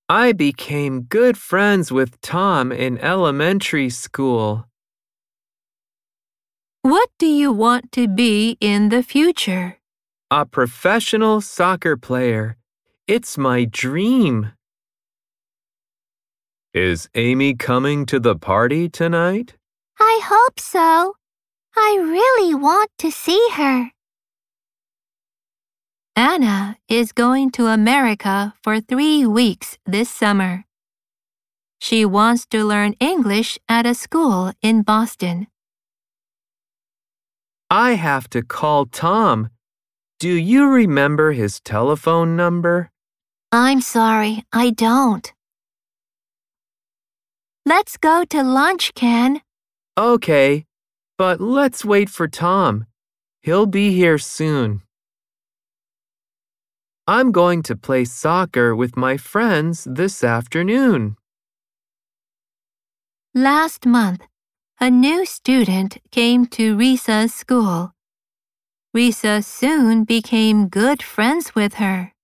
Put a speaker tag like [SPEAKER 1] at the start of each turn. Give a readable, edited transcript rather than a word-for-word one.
[SPEAKER 1] I became good friends with Tom in elementary school.
[SPEAKER 2] What do you want to be in the future?
[SPEAKER 1] A professional soccer player. It's my dream. Is Amy coming to the party tonight?
[SPEAKER 3] I hope so. I really want to see her.
[SPEAKER 2] Anna is going to America for 3 weeks this summer. She wants to learn English at a school in Boston.
[SPEAKER 1] I have to call Tom. Do you remember his telephone number?
[SPEAKER 3] I'm sorry, I don't.
[SPEAKER 2] Let's go to lunch, Ken.
[SPEAKER 1] Okay, but let's wait for Tom. He'll be here soon. I'm going to play soccer with my friends this afternoon.
[SPEAKER 2] Last month, a new student came to Risa's school. Risa soon became good friends with her.